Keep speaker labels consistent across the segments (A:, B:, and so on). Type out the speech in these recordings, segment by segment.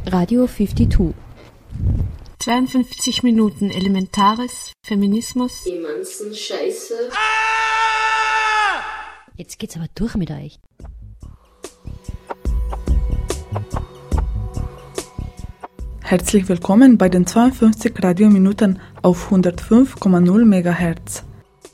A: Radio 52.
B: 52 Minuten Elementares, Feminismus.
C: Die ganzen Scheiße.
A: Jetzt geht's aber durch mit euch.
D: Herzlich willkommen bei den 52 Radiominuten auf 105,0 MHz.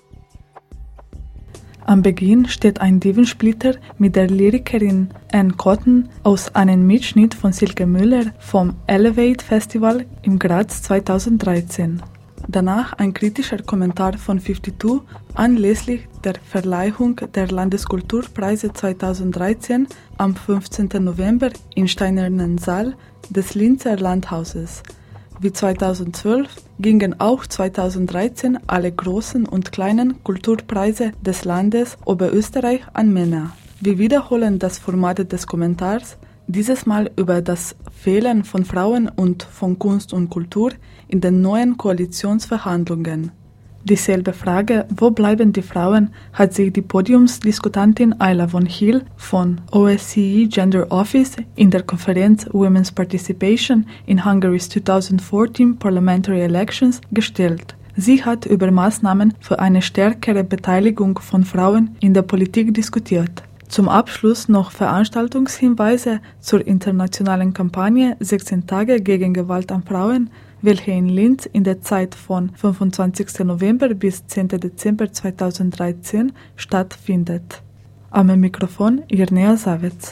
D: Am Beginn steht ein Divensplitter mit der Lyrikerin Anne Cotton aus einem Mitschnitt von Silke Müller vom Elevate Festival im Graz 2013. Danach ein kritischer Kommentar von 52 anlässlich der Verleihung der Landeskulturpreise 2013 am 15. November im Steinernen Saal des Linzer Landhauses. Wie 2012 gingen auch 2013 alle großen und kleinen Kulturpreise des Landes Oberösterreich an Männer. Wir wiederholen das Format des Kommentars, dieses Mal über das Fehlen von Frauen und von Kunst und Kultur in den neuen Koalitionsverhandlungen. Dieselbe Frage, wo bleiben die Frauen, hat sich die Podiumsdiskutantin Ayla von Hill von OSCE Gender Office in der Konferenz Women's Participation in Hungary's 2014 Parliamentary Elections gestellt. Sie hat über Maßnahmen für eine stärkere Beteiligung von Frauen in der Politik diskutiert. Zum Abschluss noch Veranstaltungshinweise zur internationalen Kampagne 16 Tage gegen Gewalt an Frauen, welche in Linz in der Zeit von 25. November bis 10. Dezember 2013 stattfindet. Am Mikrofon Irnea Savets.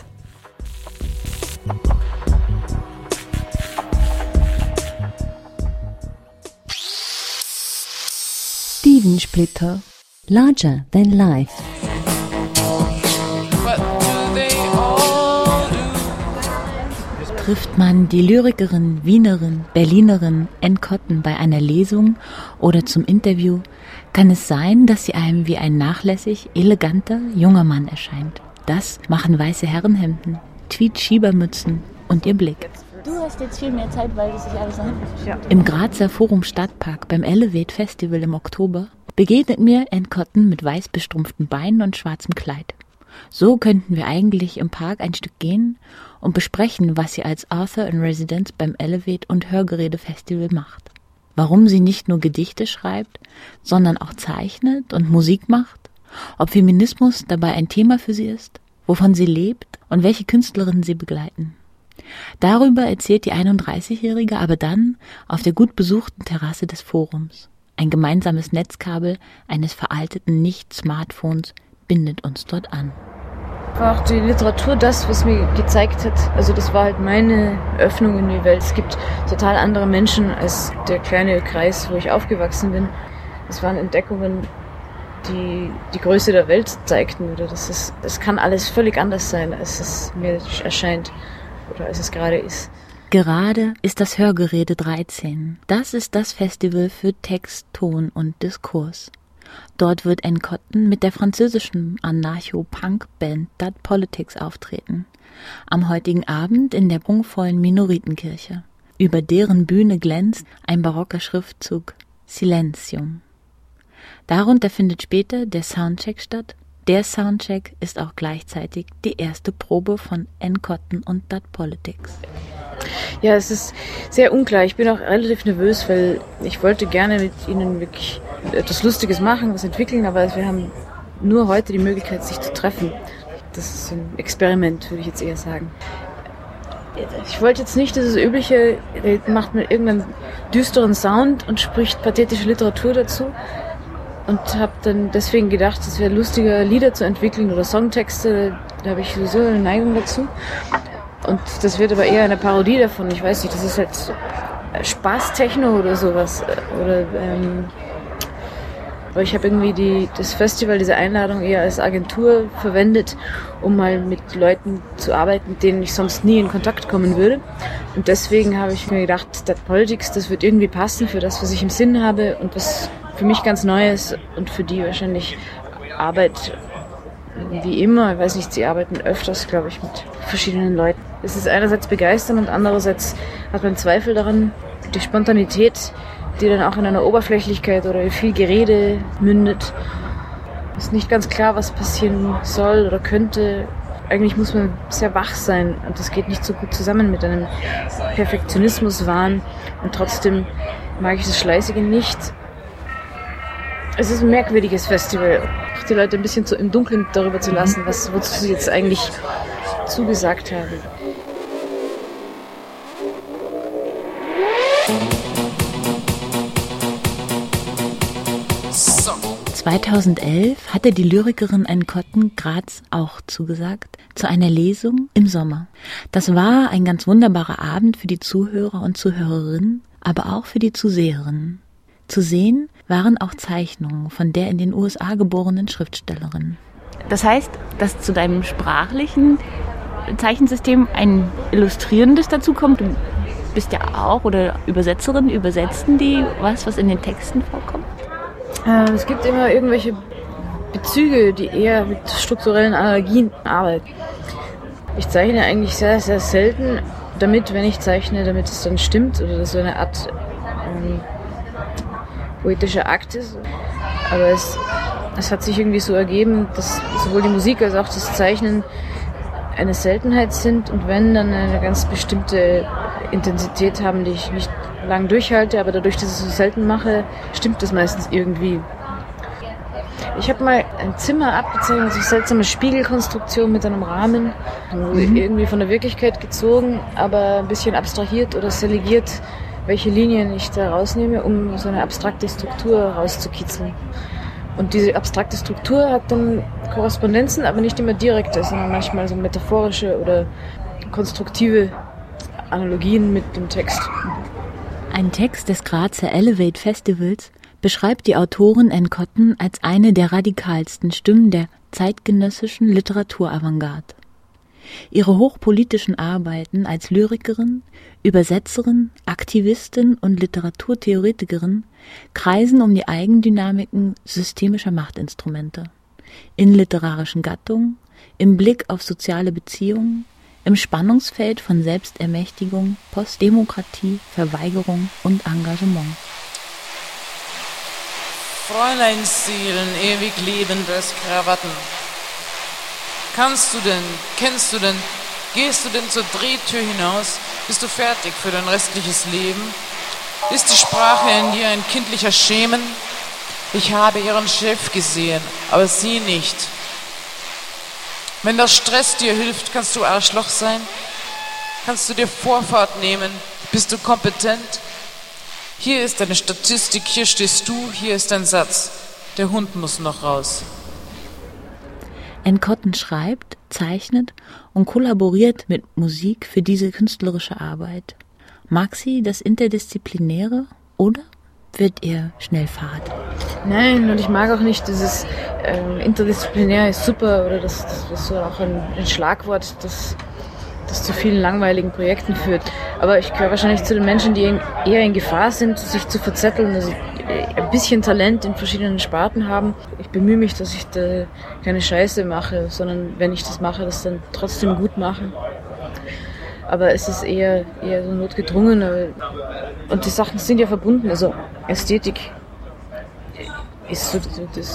A: Divensplitter. Larger than life. Trifft man die Lyrikerin, Wienerin, Berlinerin Anne Cotton bei einer Lesung oder zum Interview, kann es sein, dass sie einem wie ein nachlässig, eleganter, junger Mann erscheint. Das machen weiße Herrenhemden, Tweed-Schiebermützen und ihr Blick.
E: Du hast jetzt viel mehr Zeit, weil das sich alles nach hinten verschiebt.
A: Im Grazer Forum Stadtpark beim Elevate Festival im Oktober begegnet mir Anne Cotton mit weiß bestrumpften Beinen und schwarzem Kleid. So könnten wir eigentlich im Park ein Stück gehen und besprechen, was sie als Author in Residence beim Elevate und Hörgeräte-Festival macht. Warum sie nicht nur Gedichte schreibt, sondern auch zeichnet und Musik macht, ob Feminismus dabei ein Thema für sie ist, wovon sie lebt und welche Künstlerinnen sie begleiten. Darüber erzählt die 31-Jährige aber dann auf der gut besuchten Terrasse des Forums. Ein gemeinsames Netzkabel eines veralteten Nicht-Smartphones bindet uns dort an.
E: War auch die Literatur das, was mir gezeigt hat. Also das war halt meine Öffnung in die Welt. Es gibt total andere Menschen als der kleine Kreis, wo ich aufgewachsen bin. Es waren Entdeckungen, die die Größe der Welt zeigten. Oder es kann alles völlig anders sein, als es mir erscheint oder als es gerade ist.
A: Gerade ist das Hörgeräte 13. Das ist das Festival für Text, Ton und Diskurs. Dort wird Anne Cotton mit der französischen Anarcho-Punk-Band That Politics auftreten. Am heutigen Abend in der prunkvollen Minoritenkirche. Über deren Bühne glänzt ein barocker Schriftzug Silentium. Darunter findet später der Soundcheck statt. Der Soundcheck ist auch gleichzeitig die erste Probe von Anne Cotton und That Politics.
E: Ja, es ist sehr unklar. Ich bin auch relativ nervös, weil ich wollte gerne mit Ihnen wirklich etwas Lustiges machen, was entwickeln, aber wir haben nur heute die Möglichkeit, sich zu treffen. Das ist ein Experiment, würde ich jetzt eher sagen. Ich wollte jetzt nicht dieses übliche, macht mir irgendeinen düsteren Sound und spricht pathetische Literatur dazu und habe dann deswegen gedacht, es wäre lustiger, Lieder zu entwickeln oder Songtexte, da habe ich sowieso eine Neigung dazu. Und das wird aber eher eine Parodie davon, ich weiß nicht, das ist halt Spaß-Techno oder sowas. Aber ich habe irgendwie das Festival, diese Einladung eher als Agentur verwendet, um mal mit Leuten zu arbeiten, mit denen ich sonst nie in Kontakt kommen würde. Und deswegen habe ich mir gedacht, That Politics, das wird irgendwie passen für das, was ich im Sinn habe und was für mich ganz neu ist und für die wahrscheinlich Arbeit wie immer. Ich weiß nicht, sie arbeiten öfters, glaube ich, mit verschiedenen Leuten. Es ist einerseits begeistern und andererseits hat man Zweifel daran, die Spontanität, die dann auch in einer Oberflächlichkeit oder in viel Gerede mündet. Ist nicht ganz klar, was passieren soll oder könnte. eigentlich muss man sehr wach sein und das geht nicht so gut zusammen mit einem Perfektionismuswahn und trotzdem mag ich das Schleißige nicht. Es ist ein merkwürdiges Festival, die Leute ein bisschen im Dunkeln darüber zu lassen, wozu sie jetzt eigentlich zugesagt haben.
A: So. 2011 hatte die Lyrikerin Anne Cotton Graz auch zugesagt zu einer Lesung im Sommer. Das war ein ganz wunderbarer Abend für die Zuhörer und Zuhörerinnen, aber auch für die Zuseherinnen. Zu sehen waren auch Zeichnungen von der in den USA geborenen Schriftstellerin. Das heißt, dass zu deinem sprachlichen Zeichensystem ein Illustrierendes dazukommt. Du bist ja auch, oder Übersetzerin, übersetzen die was in den Texten vorkommt?
E: Es gibt immer irgendwelche Bezüge, die eher mit strukturellen Analogien arbeiten. Ich zeichne eigentlich sehr, sehr selten damit, wenn ich zeichne, damit es dann stimmt oder so eine Art poetischer Akt ist. Aber es hat sich irgendwie so ergeben, dass sowohl die Musik als auch das Zeichnen eine Seltenheit sind und wenn, dann eine ganz bestimmte Intensität haben, die ich nicht lang durchhalte, aber dadurch, dass ich es so selten mache, stimmt das meistens irgendwie. Ich habe mal ein Zimmer abgezeichnet, so eine seltsame Spiegelkonstruktion mit einem Rahmen, irgendwie von der Wirklichkeit gezogen, aber ein bisschen abstrahiert oder selegiert, welche Linien ich da rausnehme, um so eine abstrakte Struktur rauszukitzeln. Und diese abstrakte Struktur hat dann Korrespondenzen, aber nicht immer direkte, sondern manchmal so metaphorische oder konstruktive Analogien mit dem Text.
A: Ein Text des Grazer Elevate Festivals beschreibt die Autorin Anne Cotton als eine der radikalsten Stimmen der zeitgenössischen Literaturavantgarde. Ihre hochpolitischen Arbeiten als Lyrikerin, Übersetzerin, Aktivistin und Literaturtheoretikerin kreisen um die Eigendynamiken systemischer Machtinstrumente, in literarischen Gattungen, im Blick auf soziale Beziehungen, im Spannungsfeld von Selbstermächtigung, Postdemokratie, Verweigerung und Engagement.
C: Fräuleinseelen, ewig lebendes Krawatten. Kennst du denn, gehst du denn zur Drehtür hinaus? Bist du fertig für dein restliches Leben? Ist die Sprache in dir ein kindlicher Schemen? Ich habe ihren Chef gesehen, aber sie nicht. Wenn der Stress dir hilft, kannst du Arschloch sein? Kannst du dir Vorfahrt nehmen? Bist du kompetent? Hier ist deine Statistik, hier stehst du, hier ist dein Satz. Der Hund muss noch raus.
A: Anne Cotton schreibt, zeichnet und kollaboriert mit Musik für diese künstlerische Arbeit. Mag sie das Interdisziplinäre oder wird ihr schnell fad?
E: Nein, und ich mag auch nicht dieses interdisziplinär ist super oder das ist so auch ein Schlagwort, das zu vielen langweiligen Projekten führt. Aber ich gehöre wahrscheinlich zu den Menschen, die eher in Gefahr sind, sich zu verzetteln, also ein bisschen Talent in verschiedenen Sparten haben. Ich bemühe mich, dass ich da keine Scheiße mache, sondern wenn ich das mache, das dann trotzdem gut machen. Aber es ist eher so notgedrungen. Und die Sachen sind ja verbunden. Also Ästhetik ist so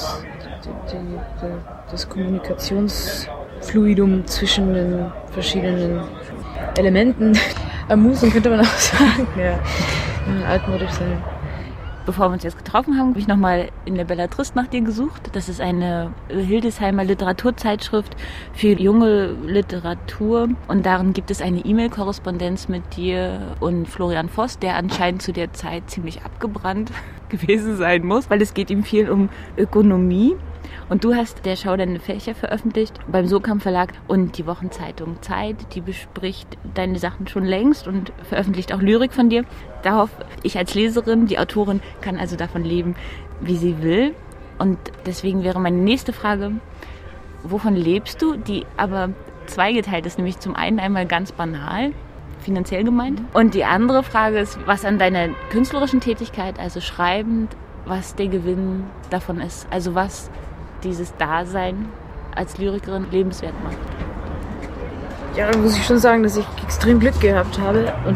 E: das Kommunikationsfluidum zwischen den verschiedenen Elementen. Amusing könnte man auch sagen. Ja, altmodisch sein.
A: Bevor wir uns jetzt getroffen haben, habe ich nochmal in der Bellatrist nach dir gesucht. Das ist eine Hildesheimer Literaturzeitschrift für junge Literatur. Und darin gibt es eine E-Mail-Korrespondenz mit dir und Florian Voss, der anscheinend zu der Zeit ziemlich abgebrannt gewesen sein muss, weil es geht ihm viel um Ökonomie. Und du hast der Schau deine Fächer veröffentlicht beim Sokamp Verlag und die Wochenzeitung Zeit, die bespricht deine Sachen schon längst und veröffentlicht auch Lyrik von dir. Darauf ich als Leserin, die Autorin, kann also davon leben, wie sie will. Und deswegen wäre meine nächste Frage, wovon lebst du, die aber zweigeteilt ist, nämlich zum einen einmal ganz banal, finanziell gemeint. Und die andere Frage ist, was an deiner künstlerischen Tätigkeit, also schreibend, was der Gewinn davon ist, also was dieses Dasein als Lyrikerin lebenswert macht.
E: Ja, da muss ich schon sagen, dass ich extrem Glück gehabt habe und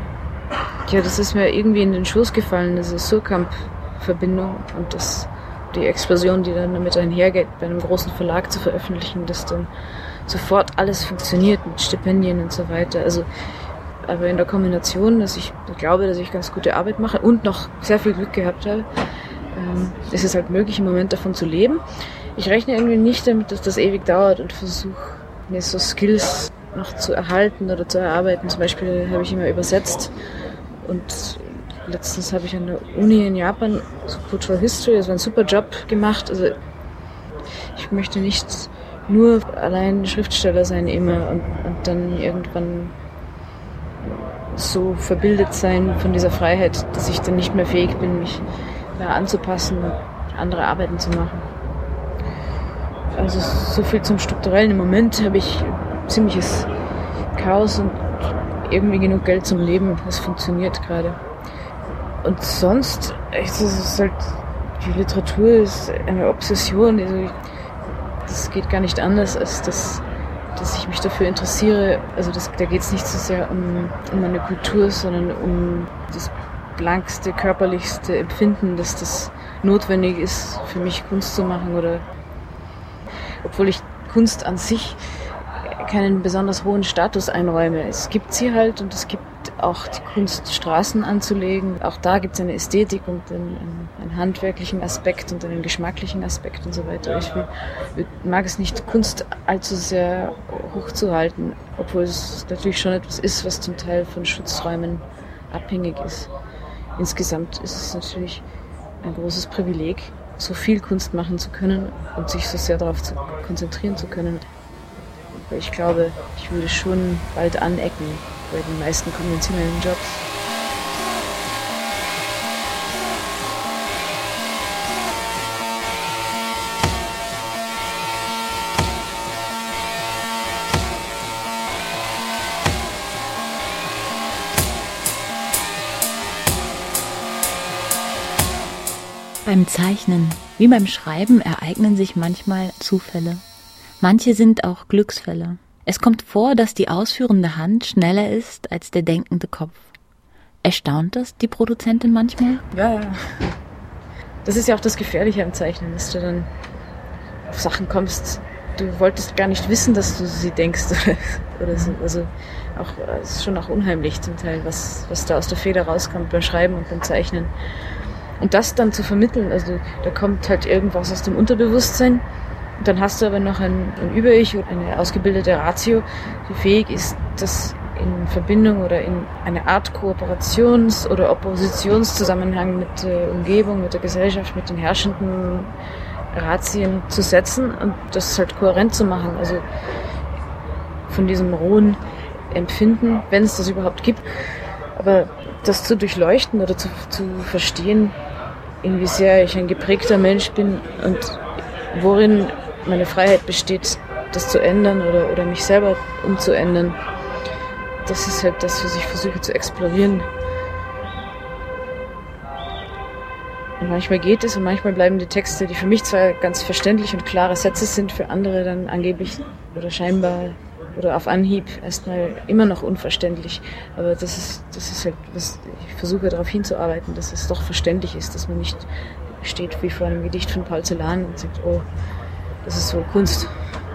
E: das ist mir irgendwie in den Schoß gefallen, diese Sokamp-Verbindung und das die Explosion, die dann damit einhergeht, bei einem großen Verlag zu veröffentlichen, dass dann sofort alles funktioniert mit Stipendien und so weiter. Also, aber in der Kombination, dass ich glaube, dass ich ganz gute Arbeit mache und noch sehr viel Glück gehabt habe, ist es halt möglich, im Moment davon zu leben. Ich rechne irgendwie nicht damit, dass das ewig dauert und versuche mir so Skills noch zu erhalten oder zu erarbeiten. Zum Beispiel habe ich immer übersetzt und letztens habe ich an der Uni in Japan so Cultural History, das war ein super Job gemacht. Also ich möchte nicht nur allein Schriftsteller sein immer und dann irgendwann so verbildet sein von dieser Freiheit, dass ich dann nicht mehr fähig bin, mich da anzupassen und andere Arbeiten zu machen. Also so viel zum Strukturellen. Im Moment habe ich ziemliches Chaos und irgendwie genug Geld zum Leben. Das funktioniert gerade. Und sonst, es ist halt, die Literatur ist eine Obsession. Also das geht gar nicht anders, als dass ich mich dafür interessiere. Also da geht es nicht so sehr um eine Kultur, sondern um das blankste, körperlichste Empfinden, dass das notwendig ist, für mich Kunst zu machen. Oder obwohl ich Kunst an sich keinen besonders hohen Status einräume. Es gibt sie halt und es gibt auch die Kunst, Straßen anzulegen. Auch da gibt es eine Ästhetik und einen handwerklichen Aspekt und einen geschmacklichen Aspekt und so weiter. Ich mag es nicht, Kunst allzu sehr hochzuhalten, obwohl es natürlich schon etwas ist, was zum Teil von Schutzräumen abhängig ist. Insgesamt ist es natürlich ein großes Privileg, so viel Kunst machen zu können und sich so sehr darauf konzentrieren zu können. Aber ich glaube, ich würde schon bald anecken bei den meisten konventionellen Jobs.
A: Beim Zeichnen wie beim Schreiben ereignen sich manchmal Zufälle. Manche sind auch Glücksfälle. Es kommt vor, dass die ausführende Hand schneller ist als der denkende Kopf. Erstaunt das die Produzentin manchmal?
E: Ja. Das ist ja auch das Gefährliche am Zeichnen, dass du dann auf Sachen kommst, du wolltest gar nicht wissen, dass du sie denkst oder so. Also auch, es ist schon auch unheimlich zum Teil, was da aus der Feder rauskommt beim Schreiben und beim Zeichnen. Und das dann zu vermitteln, also da kommt halt irgendwas aus dem Unterbewusstsein. Und dann hast du aber noch ein Über-Ich oder eine ausgebildete Ratio, die fähig ist, das in Verbindung oder in eine Art Kooperations- oder Oppositionszusammenhang mit der Umgebung, mit der Gesellschaft, mit den herrschenden Ratien zu setzen und das halt kohärent zu machen. Also von diesem rohen Empfinden, wenn es das überhaupt gibt. Aber das zu durchleuchten oder zu verstehen, in wie sehr ich ein geprägter Mensch bin und worin meine Freiheit besteht, das zu ändern oder mich selber umzuändern. Das ist halt das, was ich versuche zu explorieren. Und manchmal geht es und manchmal bleiben die Texte, die für mich zwar ganz verständlich und klare Sätze sind, für andere dann angeblich oder scheinbar oder auf Anhieb erstmal immer noch unverständlich. Aber das ist halt, was ich versuche darauf hinzuarbeiten, dass es doch verständlich ist, dass man nicht steht wie vor einem Gedicht von Paul Celan und sagt, oh, das ist so Kunst.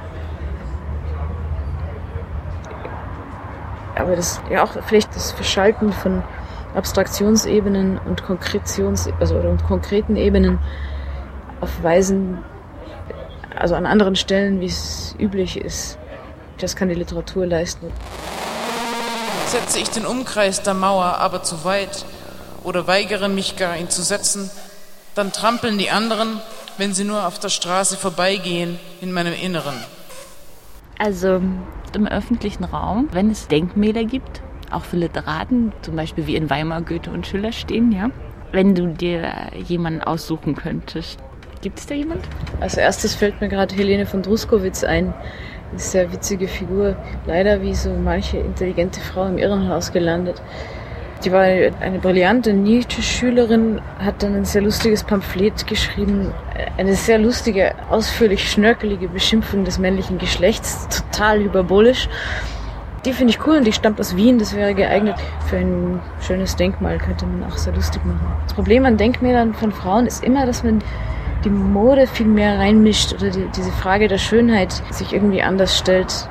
E: Aber das ja auch vielleicht das Verschalten von Abstraktionsebenen und und konkreten Ebenen auf Weisen, also an anderen Stellen, wie es üblich ist. Das kann die Literatur leisten.
C: Setze ich den Umkreis der Mauer aber zu weit oder weigere mich gar, ihn zu setzen, dann trampeln die anderen, wenn sie nur auf der Straße vorbeigehen, in meinem Inneren.
A: Also im öffentlichen Raum, wenn es Denkmäler gibt, auch für Literaten, zum Beispiel wie in Weimar Goethe und Schiller stehen, ja. Wenn du dir jemanden aussuchen könntest, gibt es da jemand?
E: Als erstes fällt mir gerade Helene von Druskowitz ein. Eine sehr witzige Figur, leider wie so manche intelligente Frau im Irrenhaus gelandet. Die war eine brillante Nietzsche-Schülerin, hat dann ein sehr lustiges Pamphlet geschrieben, eine sehr lustige, ausführlich schnörkelige Beschimpfung des männlichen Geschlechts, total hyperbolisch. Die finde ich cool und die stammt aus Wien, das wäre geeignet für ein schönes Denkmal, könnte man auch sehr lustig machen. Das Problem an Denkmälern von Frauen ist immer, dass man die Mode viel mehr reinmischt oder diese Frage der Schönheit sich irgendwie anders stellt.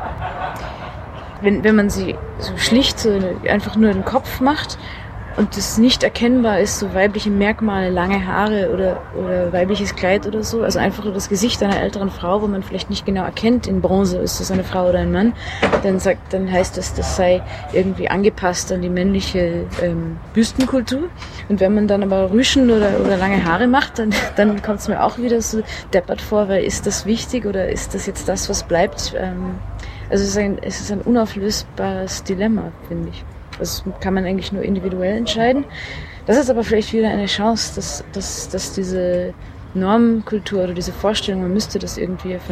E: Wenn man sie so schlicht so einfach nur den Kopf macht und das nicht erkennbar ist, so weibliche Merkmale, lange Haare oder weibliches Kleid oder so, also einfach nur das Gesicht einer älteren Frau, wo man vielleicht nicht genau erkennt, in Bronze ist das eine Frau oder ein Mann, dann heißt das sei irgendwie angepasst an die männliche Büstenkultur. Und wenn man dann aber Rüschen oder lange Haare macht, dann kommt es mir auch wieder so deppert vor, weil ist das wichtig oder ist das jetzt das, was bleibt? Also es ist ein unauflösbares Dilemma, finde ich. Das kann man eigentlich nur individuell entscheiden. Das ist aber vielleicht wieder eine Chance, dass diese Normkultur oder diese Vorstellung, man müsste das irgendwie für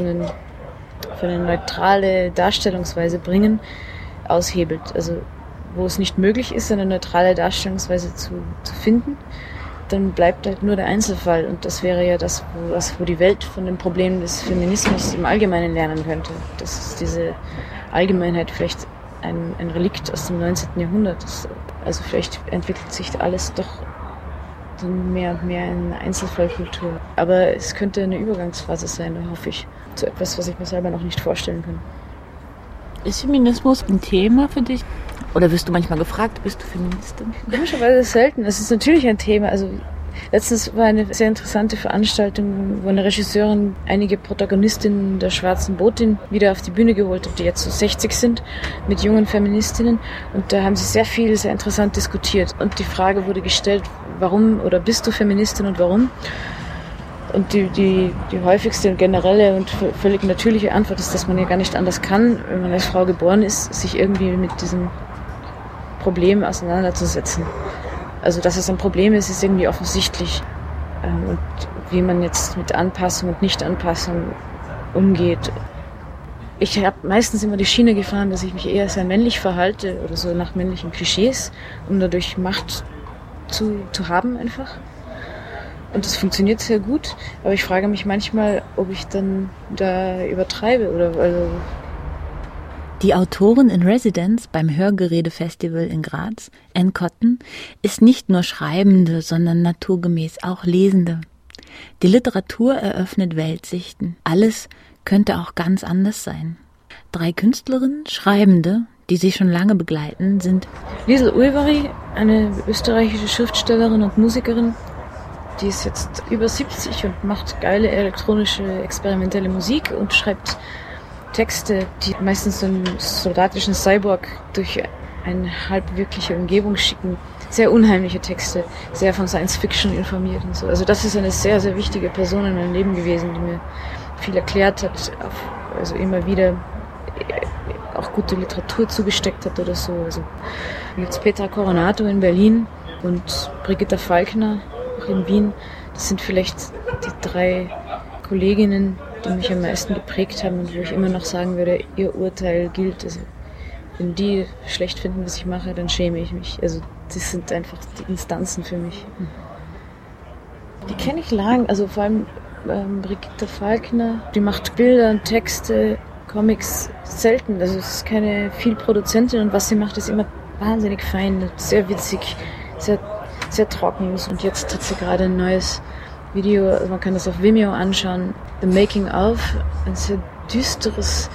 E: eine neutrale Darstellungsweise bringen, aushebelt. Also wo es nicht möglich ist, eine neutrale Darstellungsweise zu finden, dann bleibt halt nur der Einzelfall. Und das wäre ja das, wo die Welt von den Problemen des Feminismus im Allgemeinen lernen könnte. Das ist diese Allgemeinheit vielleicht ein Relikt aus dem 19. Jahrhundert. Also vielleicht entwickelt sich alles doch dann mehr und mehr in eine Einzelfallkultur. Aber es könnte eine Übergangsphase sein, hoffe ich. Zu etwas, was ich mir selber noch nicht vorstellen kann.
A: Ist Feminismus ein Thema für dich? Oder wirst du manchmal gefragt, bist du Feministin?
E: Komischerweise selten. Es ist natürlich ein Thema. Also letztens war eine sehr interessante Veranstaltung, wo eine Regisseurin einige Protagonistinnen der Schwarzen Botin wieder auf die Bühne geholt hat, die jetzt so 60 sind, mit jungen Feministinnen. Und da haben sie sehr viel, sehr interessant diskutiert. Und die Frage wurde gestellt, warum oder bist du Feministin und warum? Und die häufigste und generelle und völlig natürliche Antwort ist, dass man ja gar nicht anders kann, wenn man als Frau geboren ist, sich irgendwie mit diesem Problem auseinanderzusetzen. Also, dass es ein Problem ist, ist irgendwie offensichtlich. Und wie man jetzt mit Anpassung und Nicht-Anpassung umgeht. Ich habe meistens immer die Schiene gefahren, dass ich mich eher sehr männlich verhalte oder so nach männlichen Klischees, um dadurch Macht zu haben einfach. Und das funktioniert sehr gut, aber ich frage mich manchmal, ob ich dann da übertreibe oder also.
A: Die Autorin in Residence beim Hörgerede-Festival in Graz, Anne Cotton, ist nicht nur Schreibende, sondern naturgemäß auch Lesende. Die Literatur eröffnet Weltsichten. Alles könnte auch ganz anders sein. 3 Künstlerinnen, Schreibende, die sie schon lange begleiten, sind
E: Liesl Ulvari, eine österreichische Schriftstellerin und Musikerin, die ist jetzt über 70 und macht geile elektronische, experimentelle Musik und schreibt Texte, die meistens so einen soldatischen Cyborg durch eine halbwirkliche Umgebung schicken. Sehr unheimliche Texte, sehr von Science-Fiction informiert und so. Also das ist eine sehr, sehr wichtige Person in meinem Leben gewesen, die mir viel erklärt hat, also immer wieder auch gute Literatur zugesteckt hat oder so. Also dann gibt es Petra Coronato in Berlin und Brigitta Falkner auch in Wien. Das sind vielleicht die 3 Kolleginnen, die mich am meisten geprägt haben und wo ich immer noch sagen würde, ihr Urteil gilt. Also wenn die schlecht finden, was ich mache, dann schäme ich mich. Also das sind einfach die Instanzen für mich. Die kenne ich lang, also vor allem Brigitta Falkner, die macht Bilder und Texte, Comics selten. Also es ist keine Vielproduzentin und was sie macht, ist immer wahnsinnig fein, sehr witzig, sehr, sehr trocken. Und jetzt hat sie gerade ein neues Video, also man kann das auf Vimeo anschauen, The Making of, ein sehr düsteres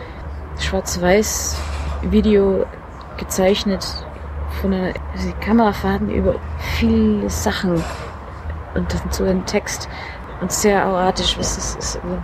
E: Schwarz-Weiß-Video gezeichnet von einer Kamerafahrten über viele Sachen und dann so ein Text und sehr auratisch, was das ist. Also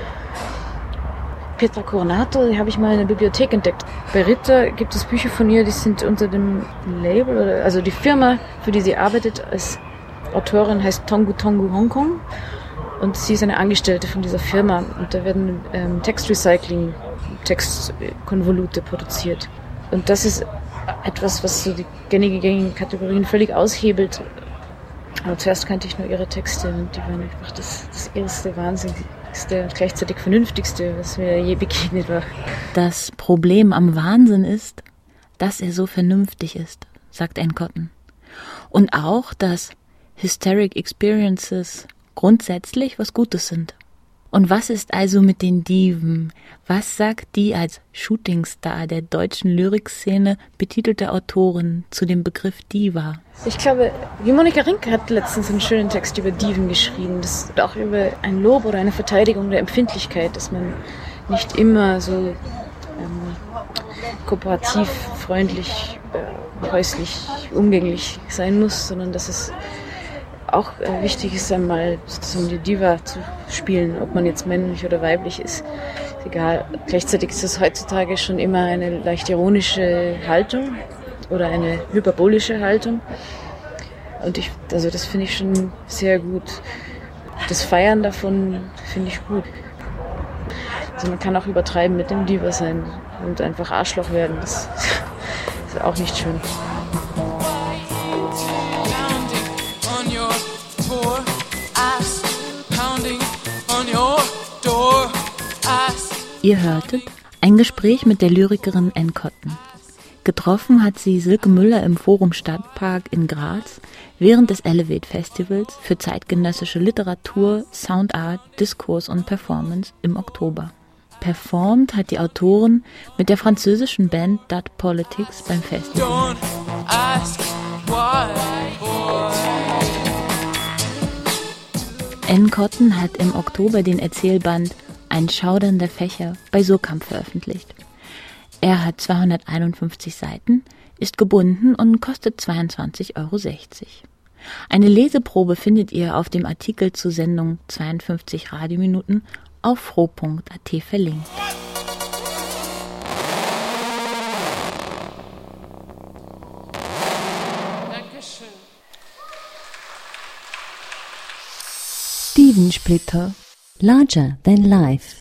E: Petra Coronato, die habe ich mal in der Bibliothek entdeckt. Bei Ritter gibt es Bücher von ihr, die sind unter dem Label, also die Firma, für die sie arbeitet als Autorin, heißt Tongu Tongu Hongkong und sie ist eine Angestellte von dieser Firma und da werden Textrecycling, Textkonvolute produziert. Und das ist etwas, was so die gängigen Kategorien völlig aushebelt. Aber zuerst kannte ich nur ihre Texte und die waren einfach das erste Wahnsinnigste und gleichzeitig Vernünftigste, was mir je begegnet war.
A: Das Problem am Wahnsinn ist, dass er so vernünftig ist, sagt Anne Cotton. Und auch, dass Hysteric Experiences grundsätzlich was Gutes sind. Und was ist also mit den Diven? Was sagt die als Shootingstar der deutschen Lyrikszene betitelte Autorin zu dem Begriff Diva?
E: Ich glaube, wie Monika Rinke hat letztens einen schönen Text über Diven geschrieben. Das ist auch über ein Lob oder eine Verteidigung der Empfindlichkeit, dass man nicht immer so kooperativ, freundlich, häuslich, umgänglich sein muss, sondern dass es auch wichtig ist, einmal sozusagen die Diva zu spielen, ob man jetzt männlich oder weiblich ist. Ist egal. Gleichzeitig ist das heutzutage schon immer eine leicht ironische Haltung oder eine hyperbolische Haltung. Und das finde ich schon sehr gut. Das Feiern davon finde ich gut. Also man kann auch übertreiben mit dem Diva sein und einfach Arschloch werden. Das ist auch nicht schön.
A: Ihr hörtet ein Gespräch mit der Lyrikerin Anne Cotton. Getroffen hat sie Silke Müller im Forum Stadtpark in Graz während des Elevate Festivals für zeitgenössische Literatur, Soundart, Diskurs und Performance im Oktober. Performt hat die Autorin mit der französischen Band Dot Politics beim Festival. Anne Cotton hat im Oktober den Erzählband Ein Schaudern der Fächer bei Surkamp veröffentlicht. Er hat 251 Seiten, ist gebunden und kostet 22,60 €. Eine Leseprobe findet ihr auf dem Artikel zur Sendung 52 Radiominuten auf fro.at verlinkt.
F: Divensplitter. Larger than life.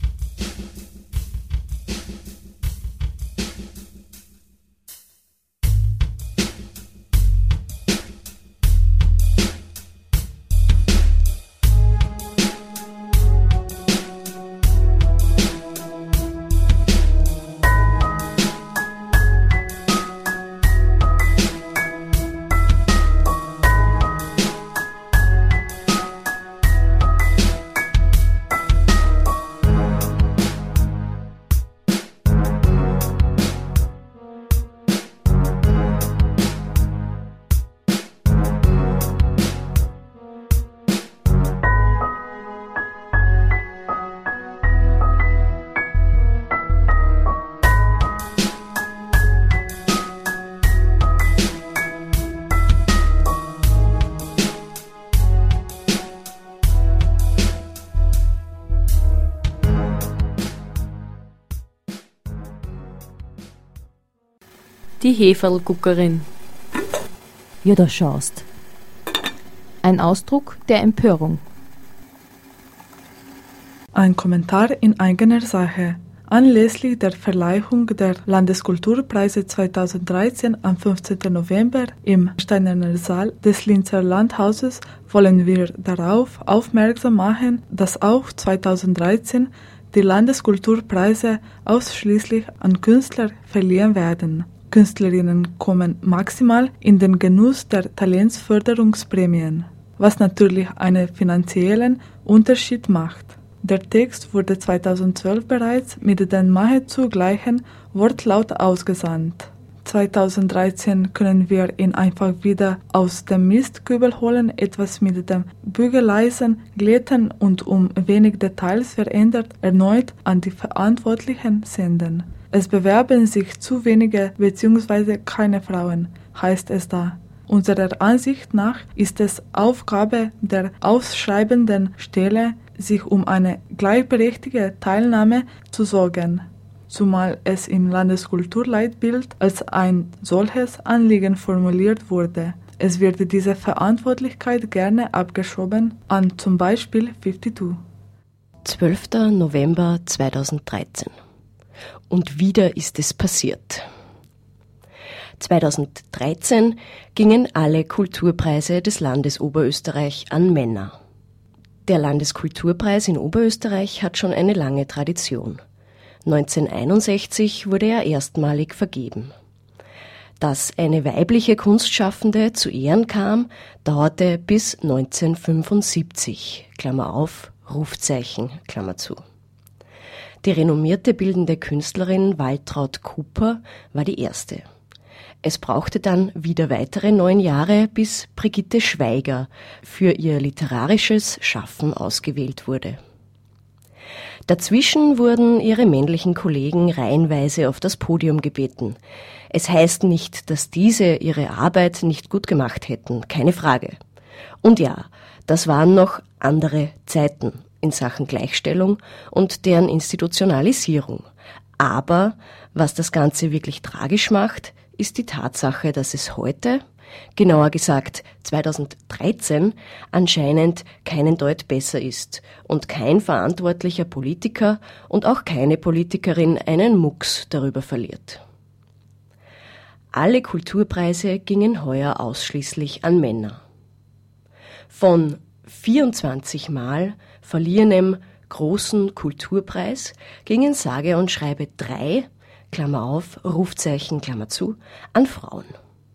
B: Die Heferlguckerin.
F: Ja, da schaust.
B: Ein Ausdruck der Empörung.
D: Ein Kommentar in eigener Sache. Anlässlich der Verleihung der Landeskulturpreise 2013 am 15. November im Steinerner Saal des Linzer Landhauses wollen wir darauf aufmerksam machen, dass auch 2013 die Landeskulturpreise ausschließlich an Künstler verliehen werden. Künstlerinnen kommen maximal in den Genuss der Talentsförderungsprämien, was natürlich einen finanziellen Unterschied macht. Der Text wurde 2012 bereits mit dem nahezu gleichen Wortlaut ausgesandt. 2013 können wir ihn einfach wieder aus dem Mistkübel holen, etwas mit dem Bügeleisen glätten und um wenig Details verändert erneut an die Verantwortlichen senden. Es bewerben sich zu wenige bzw. keine Frauen, heißt es da. Unserer Ansicht nach ist es Aufgabe der ausschreibenden Stelle, sich um eine gleichberechtigte Teilnahme zu sorgen, zumal es im Landeskulturleitbild als ein solches Anliegen formuliert wurde. Es wird diese Verantwortlichkeit gerne abgeschoben an zum Beispiel 52.
G: 12. November 2013. Und wieder ist es passiert. 2013 gingen alle Kulturpreise des Landes Oberösterreich an Männer. Der Landeskulturpreis in Oberösterreich hat schon eine lange Tradition. 1961 wurde er erstmalig vergeben. Dass eine weibliche Kunstschaffende zu Ehren kam, dauerte bis 1975, Klammer auf, Rufzeichen, Klammer zu. Die renommierte bildende Künstlerin Waltraud Cooper war die erste. Es brauchte dann wieder weitere 9 Jahre, bis Brigitte Schweiger für ihr literarisches Schaffen ausgewählt wurde. Dazwischen wurden ihre männlichen Kollegen reihenweise auf das Podium gebeten. Es heißt nicht, dass diese ihre Arbeit nicht gut gemacht hätten, keine Frage. Und ja, das waren noch andere Zeiten in Sachen Gleichstellung und deren Institutionalisierung. Aber was das Ganze wirklich tragisch macht, ist die Tatsache, dass es heute, genauer gesagt 2013, anscheinend keinen Deut besser ist und kein verantwortlicher Politiker und auch keine Politikerin einen Mucks darüber verliert. Alle Kulturpreise gingen heuer ausschließlich an Männer. Von 24 Mal verliehenem großen Kulturpreis gingen sage und schreibe 3, Klammer auf, Rufzeichen, Klammer zu, an Frauen.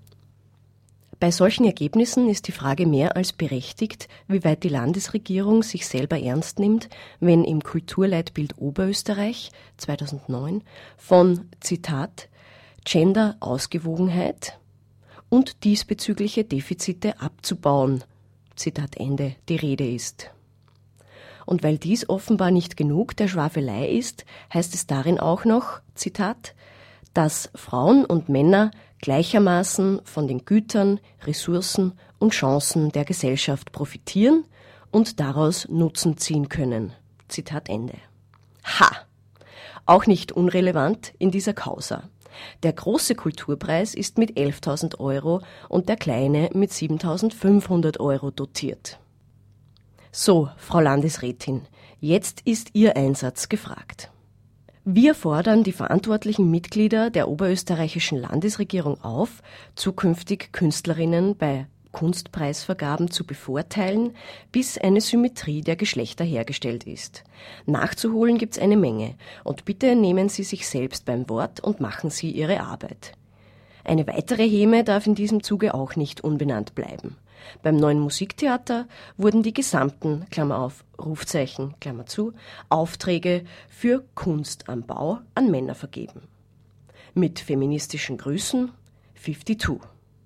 G: Bei solchen Ergebnissen ist die Frage mehr als berechtigt, wie weit die Landesregierung sich selber ernst nimmt, wenn im Kulturleitbild Oberösterreich 2009 von, Zitat, Gender-Ausgewogenheit und diesbezügliche Defizite abzubauen, Zitat Ende, die Rede ist. Und weil dies offenbar nicht genug der Schwafelei ist, heißt es darin auch noch, Zitat, dass Frauen und Männer gleichermaßen von den Gütern, Ressourcen und Chancen der Gesellschaft profitieren und daraus Nutzen ziehen können. Zitat Ende. Ha! Auch nicht unrelevant in dieser Causa. Der große Kulturpreis ist mit 11.000 Euro und der kleine mit 7.500 Euro dotiert. So, Frau Landesrätin, jetzt ist Ihr Einsatz gefragt. Wir fordern die verantwortlichen Mitglieder der oberösterreichischen Landesregierung auf, zukünftig Künstlerinnen bei Kunstpreisvergaben zu bevorteilen, bis eine Symmetrie der Geschlechter hergestellt ist. Nachzuholen gibt's eine Menge und bitte nehmen Sie sich selbst beim Wort und machen Sie Ihre Arbeit. Eine weitere Häme darf in diesem Zuge auch nicht unbenannt bleiben. Beim Neuen Musiktheater wurden die gesamten, Klammer auf, Rufzeichen, Klammer zu, Aufträge für Kunst am Bau an Männer vergeben. Mit feministischen Grüßen 52.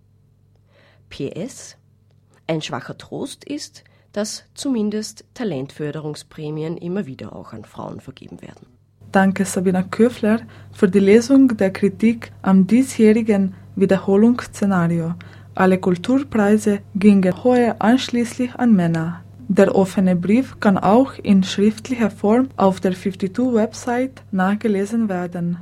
G: PS. Ein schwacher Trost ist, dass zumindest Talentförderungsprämien immer wieder auch an Frauen vergeben werden.
D: Danke Sabina Köfler für die Lesung der Kritik am diesjährigen Wiederholungsszenario. Alle Kulturpreise gingen heuer ausschließlich an Männer. Der offene Brief kann auch in schriftlicher Form auf der 52-Website nachgelesen werden.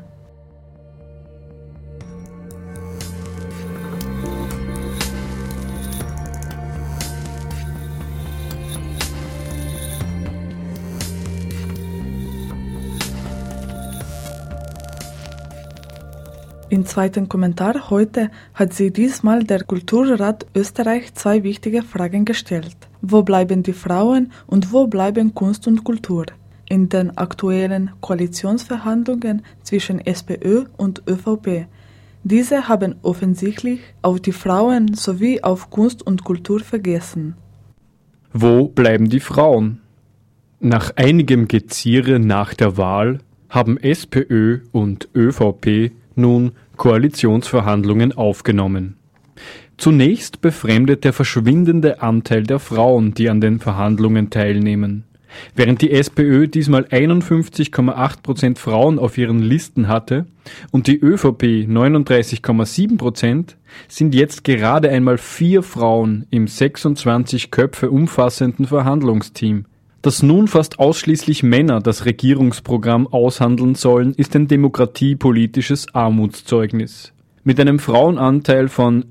D: Im zweiten Kommentar heute hat sie diesmal der Kulturrat Österreich 2 wichtige Fragen gestellt. Wo bleiben die Frauen und wo bleiben Kunst und Kultur? In den aktuellen Koalitionsverhandlungen zwischen SPÖ und ÖVP. Diese haben offensichtlich auf die Frauen sowie auf Kunst und Kultur vergessen.
H: Wo bleiben die Frauen? Nach einigem Geziere nach der Wahl haben SPÖ und ÖVP nun Koalitionsverhandlungen aufgenommen. Zunächst befremdet der verschwindende Anteil der Frauen, die an den Verhandlungen teilnehmen. Während die SPÖ diesmal 51,8% Frauen auf ihren Listen hatte und die ÖVP 39,7%, sind jetzt gerade einmal 4 Frauen im 26 Köpfe umfassenden Verhandlungsteam. Dass nun fast ausschließlich Männer das Regierungsprogramm aushandeln sollen, ist ein demokratiepolitisches Armutszeugnis. Mit einem Frauenanteil von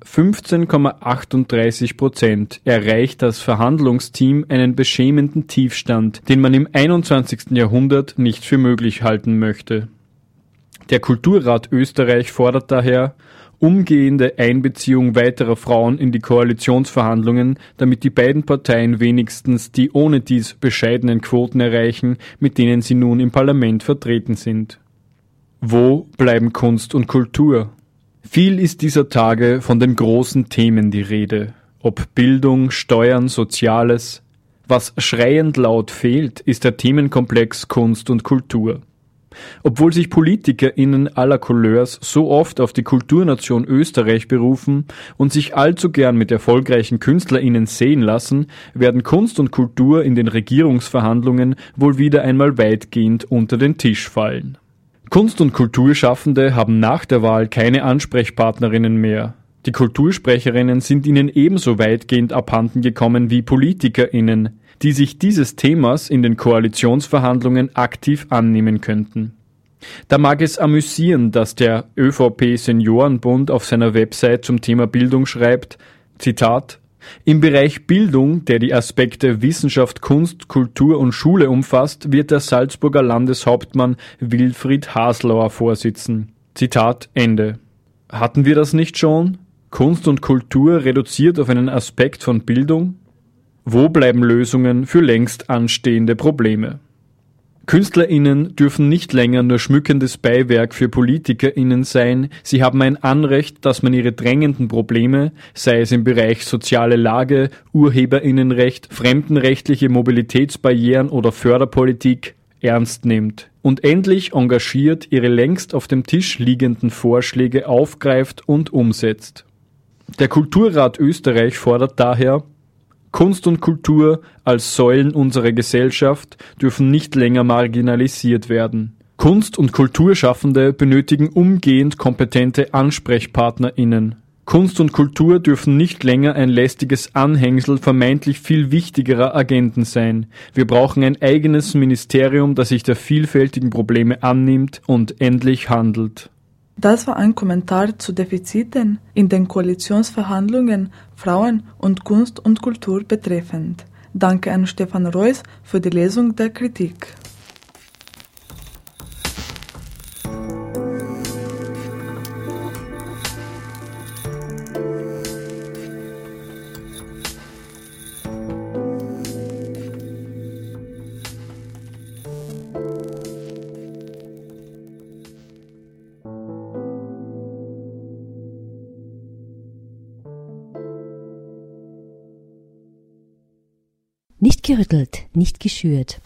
H: 15,38% erreicht das Verhandlungsteam einen beschämenden Tiefstand, den man im 21. Jahrhundert nicht für möglich halten möchte. Der Kulturrat Österreich fordert daher umgehende Einbeziehung weiterer Frauen in die Koalitionsverhandlungen, damit die beiden Parteien wenigstens die ohne dies bescheidenen Quoten erreichen, mit denen sie nun im Parlament vertreten sind. Wo bleiben Kunst und Kultur? Viel ist dieser Tage von den großen Themen die Rede, ob Bildung, Steuern, Soziales. Was schreiend laut fehlt, ist der Themenkomplex Kunst und Kultur. Obwohl sich PolitikerInnen aller Couleurs so oft auf die Kulturnation Österreich berufen und sich allzu gern mit erfolgreichen KünstlerInnen sehen lassen, werden Kunst und Kultur in den Regierungsverhandlungen wohl wieder einmal weitgehend unter den Tisch fallen. Kunst- und Kulturschaffende haben nach der Wahl keine Ansprechpartnerinnen mehr. Die Kultursprecherinnen sind ihnen ebenso weitgehend abhanden gekommen wie PolitikerInnen, die sich dieses Themas in den Koalitionsverhandlungen aktiv annehmen könnten. Da mag es amüsieren, dass der ÖVP-Seniorenbund auf seiner Website zum Thema Bildung schreibt, Zitat, im Bereich Bildung, der die Aspekte Wissenschaft, Kunst, Kultur und Schule umfasst, wird der Salzburger Landeshauptmann Wilfried Haslauer vorsitzen. Zitat Ende. Hatten wir das nicht schon? Kunst und Kultur reduziert auf einen Aspekt von Bildung? Wo bleiben Lösungen für längst anstehende Probleme? KünstlerInnen dürfen nicht länger nur schmückendes Beiwerk für PolitikerInnen sein, sie haben ein Anrecht, dass man ihre drängenden Probleme, sei es im Bereich soziale Lage, UrheberInnenrecht, fremdenrechtliche Mobilitätsbarrieren oder Förderpolitik, ernst nimmt und endlich engagiert ihre längst auf dem Tisch liegenden Vorschläge aufgreift und umsetzt. Der Kulturrat Österreich fordert daher, Kunst und Kultur als Säulen unserer Gesellschaft dürfen nicht länger marginalisiert werden. Kunst- und Kulturschaffende benötigen umgehend kompetente AnsprechpartnerInnen. Kunst und Kultur dürfen nicht länger ein lästiges Anhängsel vermeintlich viel wichtigerer Agenden sein. Wir brauchen ein eigenes Ministerium, das sich der vielfältigen Probleme annimmt und endlich handelt.
D: Das war ein Kommentar zu Defiziten in den Koalitionsverhandlungen Frauen und Kunst und Kultur betreffend. Danke an Stefan Reuss für die Lesung der Kritik.
F: Nicht gerüttelt, nicht geschürt.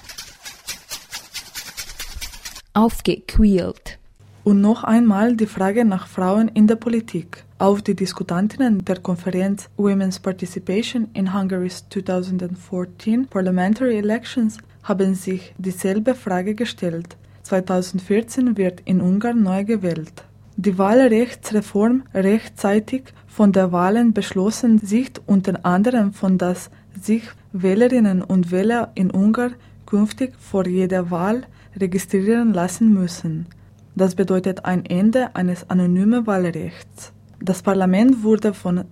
B: Aufgequält.
D: Und noch einmal die Frage nach Frauen in der Politik. Auch die Diskutantinnen der Konferenz Women's Participation in Hungary's 2014 Parliamentary Elections haben sich dieselbe Frage gestellt. 2014 wird in Ungarn neu gewählt. Die Wahlrechtsreform rechtzeitig von der Wahlen beschlossen sieht unter anderem von, dass sich Wählerinnen und Wähler in Ungarn künftig vor jeder Wahl registrieren lassen müssen. Das bedeutet ein Ende eines anonymen Wahlrechts. Das Parlament wurde von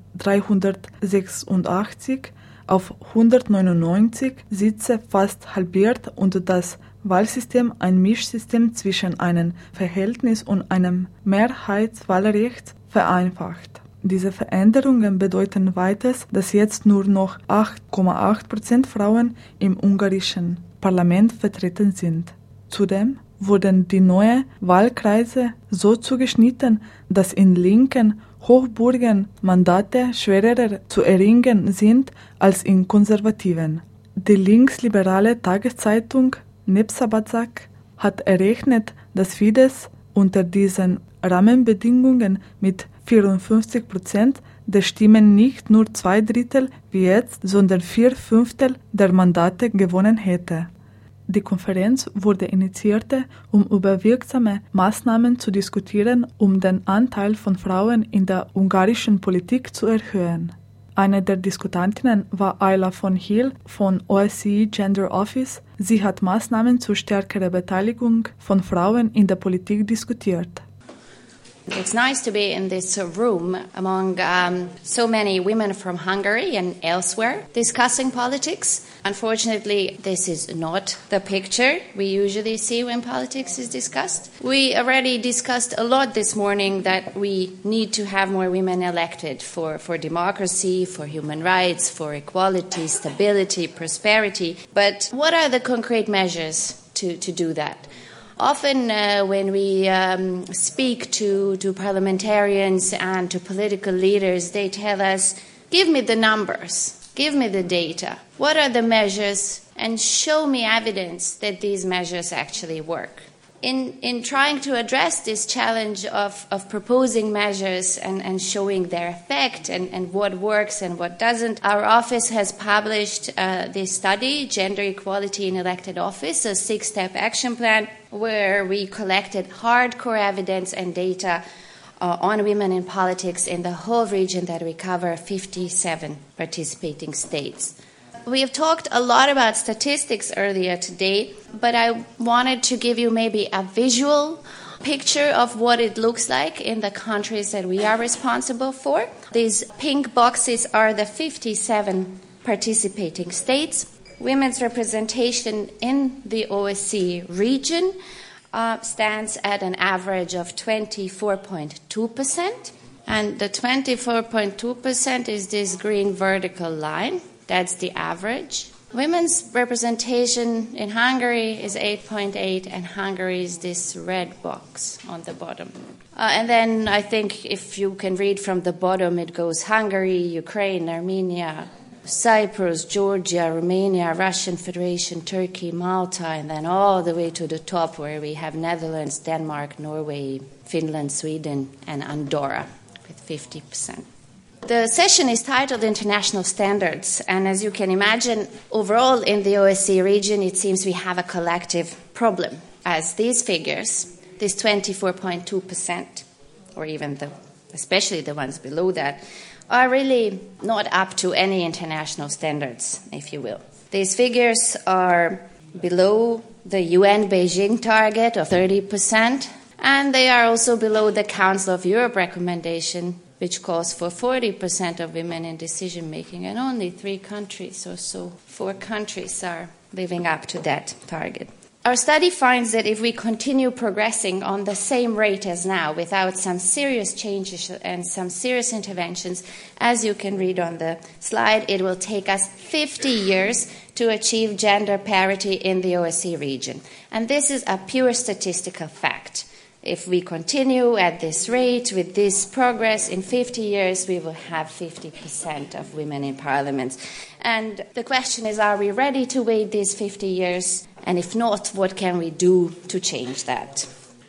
D: 386 auf 199 Sitze fast halbiert und das Wahlsystem ein Mischsystem zwischen einem Verhältnis und einem Mehrheitswahlrecht vereinfacht. Diese Veränderungen bedeuten weiters, dass jetzt nur noch 8,8% Frauen im ungarischen Parlament vertreten sind. Zudem wurden die neuen Wahlkreise so zugeschnitten, dass in linken Hochburgen Mandate schwerer zu erringen sind als in konservativen. Die linksliberale Tageszeitung Népszabadság hat errechnet, dass Fidesz unter diesen Rahmenbedingungen mit 54% der Stimmen nicht nur 2/3 wie jetzt, sondern 4/5 der Mandate gewonnen hätte. Die Konferenz wurde initiiert, um über wirksame Maßnahmen zu diskutieren, um den Anteil von Frauen in der ungarischen Politik zu erhöhen. Eine der Diskutantinnen war Ayla von Hill von OSCE Gender Office. Sie hat Maßnahmen zur stärkeren Beteiligung von Frauen in der Politik diskutiert.
I: It's nice to be in this room among so many women from Hungary and elsewhere discussing politics. Unfortunately, this is not the picture we usually see when politics is discussed. We already discussed a lot this morning that we need to have more women elected for democracy, for human rights, for equality, stability, prosperity. But what are the concrete measures to do that? Often when we speak to parliamentarians and to political leaders, they tell us, give me the numbers. Give me the data. What are the measures? And show me evidence that these measures actually work. In trying to address this challenge of proposing measures and showing their effect and what works and what doesn't, our office has published this study, Gender Equality in Elected Office, a 6-step action plan, where we collected hardcore evidence and data on women in politics in the whole region that we cover 57 participating states. We have talked a lot about statistics earlier today, but I wanted to give you maybe a visual picture of what it looks like in the countries that we are responsible for. These pink boxes are the 57 participating states. Women's representation in the OSCE region stands at an average of 24.2%, and the 24.2% is this green vertical line. That's the average. Women's representation in Hungary is 8.8, and Hungary is this red box on the bottom. And then I think if you can read from the bottom, it goes Hungary, Ukraine, Armenia, Cyprus, Georgia, Romania, Russian Federation, Turkey, Malta, and then all the way to the top where we have Netherlands, Denmark, Norway, Finland, Sweden, and Andorra with 50%. The session is titled International Standards, and as you can imagine, overall in the OSCE region, it seems we have a collective problem, as these figures, this 24.2%, or even especially the ones below that, are really not up to any international standards, if you will. These figures are below the UN Beijing target of 30%, and they are also below the Council of Europe recommendation, which calls for 40% of women in decision-making, and only 3 countries or so, 4 countries are living up to that target. Our study finds that if we continue progressing on the same rate as now, without some serious changes and some serious interventions, as you can read on the slide, it will take us 50 years to achieve gender parity in the OSCE region. And this is a pure statistical fact. If we continue at this rate, with this progress, in 50 years we will have 50% of women in parliaments. And the question is, are we ready to wait these 50 years? And if not, what can we do to change that?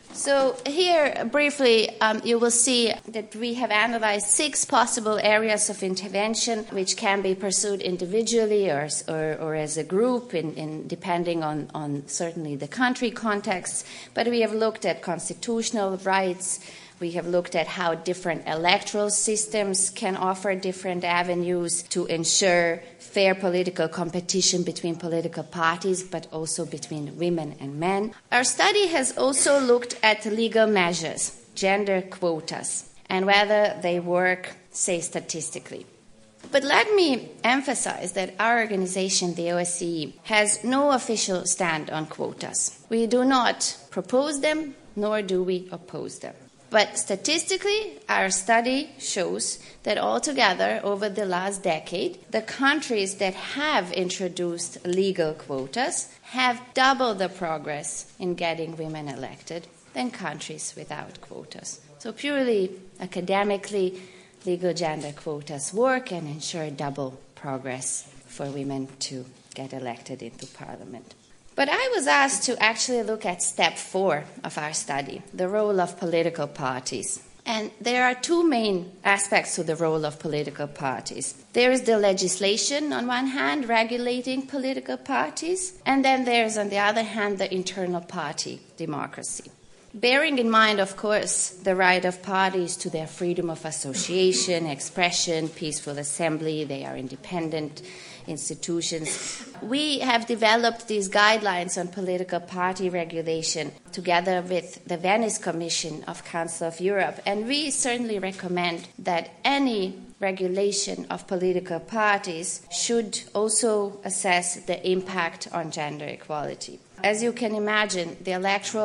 I: So here, briefly, you will see that we have analyzed 6 possible areas of intervention which can be pursued individually or as a group, depending on certainly the country context. But we have looked at constitutional rights. We have looked at how different electoral systems can offer different avenues to ensure fair political competition between political parties, but also between women and men. Our study has also looked at legal measures, gender quotas, and whether they work, say, statistically. But let me emphasize that our organization, the OSCE, has no official stand on quotas. We do not propose them, nor do we oppose them. But statistically, our study shows that altogether, over the last decade, the countries that have introduced legal quotas have double the progress in getting women elected than countries without quotas. So purely academically, legal gender quotas work and ensure double progress for women to get elected into parliament. But I was asked to actually look at step 4 of our study, the role of political parties. And there are 2 main aspects to the role of political parties. There is the legislation, on one hand, regulating political parties, and then there's, on the other hand, the internal party democracy. Bearing in mind, of course, the right of parties to their freedom of association, expression, peaceful assembly, they are independent institutions. We have developed these guidelines on political party regulation together with the Venice Commission of Council of Europe, and we certainly recommend that any regulation of political parties should also assess the impact on gender equality. As you can imagine, the electoral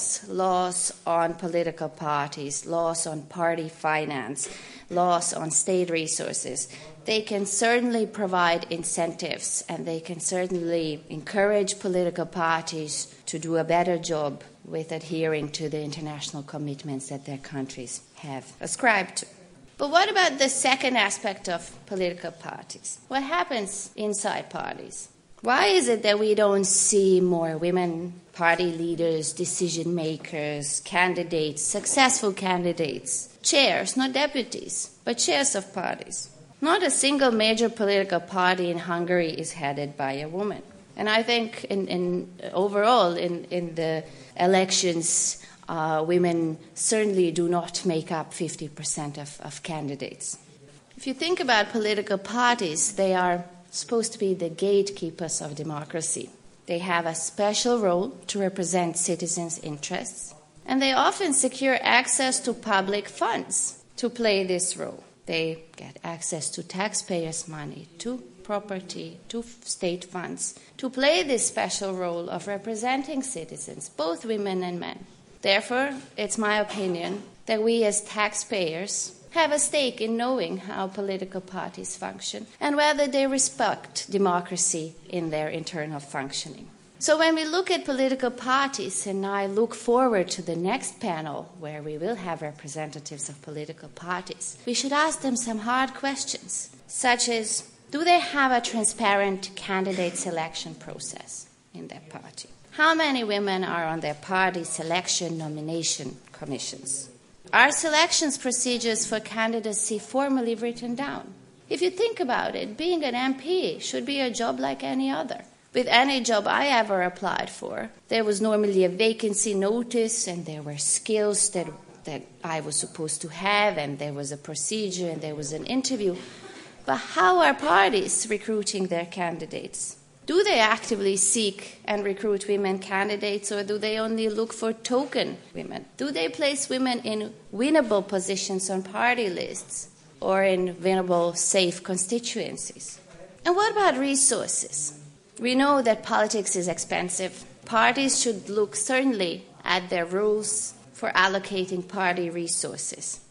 I: laws on political parties, laws on party finance, laws on state resources, they can certainly provide incentives and they can certainly encourage political parties to do a better job with adhering to the international commitments that their countries have ascribed to. But what about the second aspect of political parties? What happens inside parties? Why is it that we don't see more women party leaders, decision makers, candidates, successful candidates, chairs, not deputies, but chairs of parties? Not a single major political party in Hungary is headed by a woman. And I think overall in the elections, women certainly do not make up 50% of candidates. If you think about political parties, they are supposed to be the gatekeepers of democracy. They have a special role to represent citizens' interests, and they often secure access to public funds to play this role. They get access to taxpayers' money, to property, to state funds, to play this special role of representing citizens, both women and men. Therefore, it's my opinion that we as taxpayers have a stake in knowing how political parties function and whether they respect democracy in their internal functioning. So when we look at political parties, and I look forward to the next panel where we will have representatives of political parties, we should ask them some hard questions, such as, do they have a transparent candidate selection process in their party? How many women are on their party selection nomination commissions? Are selections procedures for candidacy formally written down? If you think about it, being an MP should be a job like any other. With any job I ever applied for, there was normally a vacancy notice, and there were skills that I was supposed to have, and there was a procedure, and there was an interview. But how are parties recruiting their candidates? Do they actively seek and recruit women candidates, or do they only look for token women? Do they place women in winnable positions on party lists or in winnable, safe constituencies? And what about resources? We know that politics is expensive. Parties should look certainly at their rules for allocating party resources.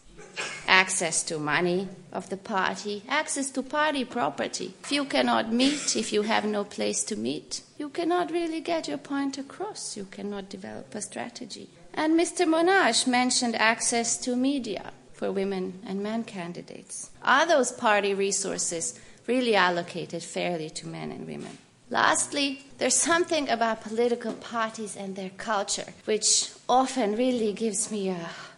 I: Access to money of the party, access to party property. If you cannot meet, if you have no place to meet, you cannot really get your point across. You cannot develop a strategy. And Mr. Monash mentioned access to media for women and men candidates. Are those party resources really allocated fairly to men and women? Lastly, there's something about political parties and their culture which often really gives me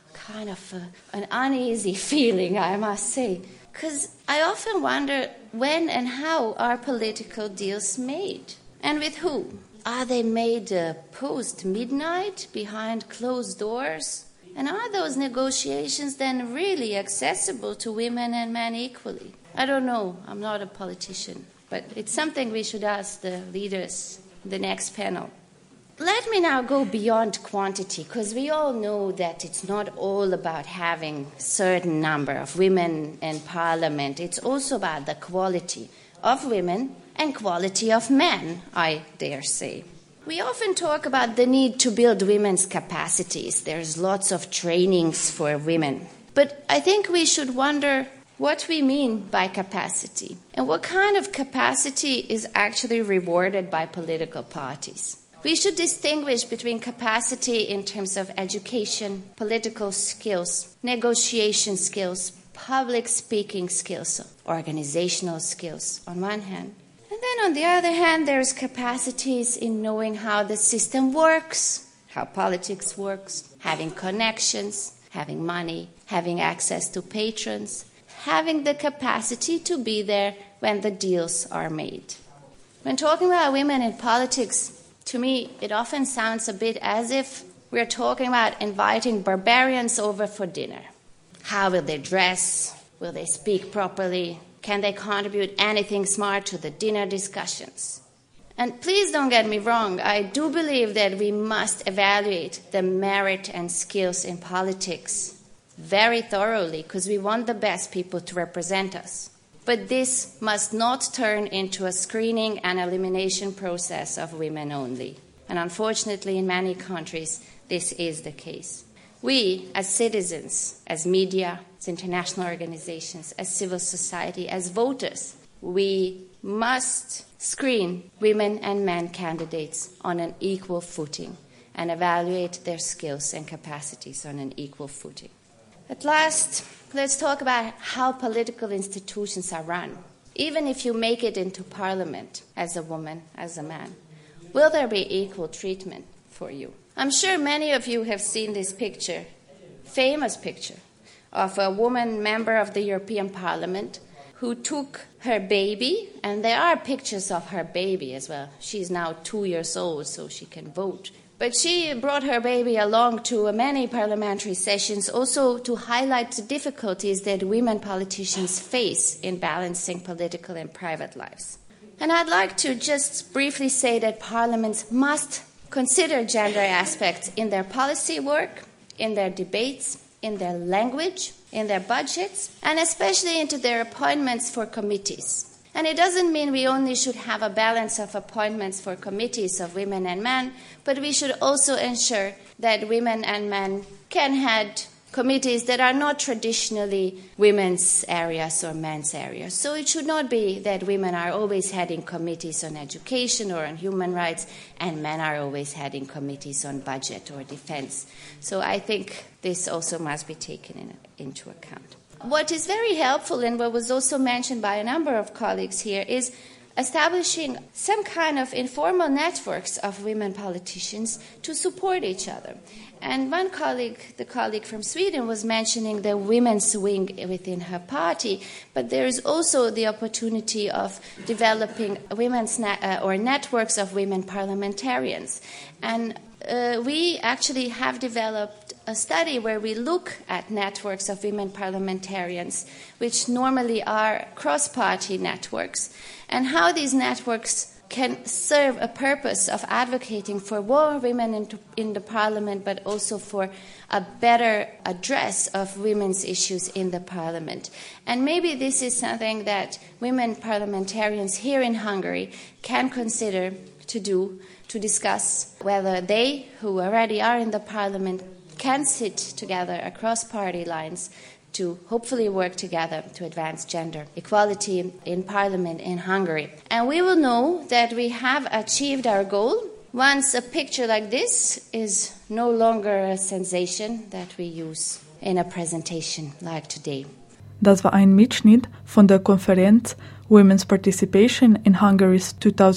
I: an uneasy feeling, I must say. Because I often wonder when and how are political deals made? And with who? Are they made post-midnight, behind closed doors? And are those negotiations then really accessible to women and men equally? I don't know. I'm not a politician. But it's something we should ask the leaders in the next panel. Let me now go beyond quantity, because we all know that it's not all about having a certain number of women in parliament. It's also about the quality of women and quality of men, I dare say. We often talk about the need to build women's capacities. There's lots of trainings for women. But I think we should wonder what we mean by capacity and what kind of capacity is actually rewarded by political parties. We should distinguish between capacity in terms of education, political skills, negotiation skills, public speaking skills, organizational skills on one hand. And then on the other hand, there's capacities in knowing how the system works, how politics works, having connections, having money, having access to patrons, having the capacity to be there when the deals are made. When talking about women in politics, to me, it often sounds a bit as if we're talking about inviting barbarians over for dinner. How will they dress? Will they speak properly? Can they contribute anything smart to the dinner discussions? And please don't get me wrong, I do believe that we must evaluate the merit and skills in politics very thoroughly, because we want the best people to represent us. But this must not turn into a screening and elimination process of women only. And unfortunately, in many countries, this is the case. We, as citizens, as media, as international organizations, as civil society, as voters, we must screen women and men candidates on an equal footing and evaluate their skills and capacities on an equal footing. At last, let's talk about how political institutions are run. Even if you make it into parliament as a woman, as a man, will there be equal treatment for you? I'm sure many of you have seen this picture, famous picture, of a woman member of the European Parliament who took her baby, and there are pictures of her baby as well. She's now 2 years old, so she can vote. But she brought her baby along to many parliamentary sessions also to highlight the difficulties that women politicians face in balancing political and private lives. And I'd like to just briefly say that parliaments must consider gender aspects in their policy work, in their debates, in their language, in their budgets, and especially into their appointments for committees. And it doesn't mean we only should have a balance of appointments for committees of women and men, but we should also ensure that women and men can head committees that are not traditionally women's areas or men's areas. So it should not be that women are always heading committees on education or on human rights, and men are always heading committees on budget or defense. So I think this also must be taken into account. What is very helpful, and what was also mentioned by a number of colleagues here, is establishing some kind of informal networks of women politicians to support each other. And one colleague, the colleague from Sweden, was mentioning the women's wing within her party, but there is also the opportunity of developing women's or networks of women parliamentarians. And we actually have developed a study where we look at networks of women parliamentarians, which normally are cross-party networks, and how these networks can serve a purpose of advocating for more women in the parliament, but also for a better address of women's issues in the parliament. And maybe this is something that women parliamentarians here in Hungary can consider to do, to discuss whether they, who already are in the parliament, can sit together across party lines to hopefully work together to advance gender equality in Parliament in Hungary. And we will know that we have achieved our goal once a picture like this is no longer a sensation that we use in a presentation like today.
D: Das war ein Mitschnitt von der Konferenz Women's Participation in Hungary's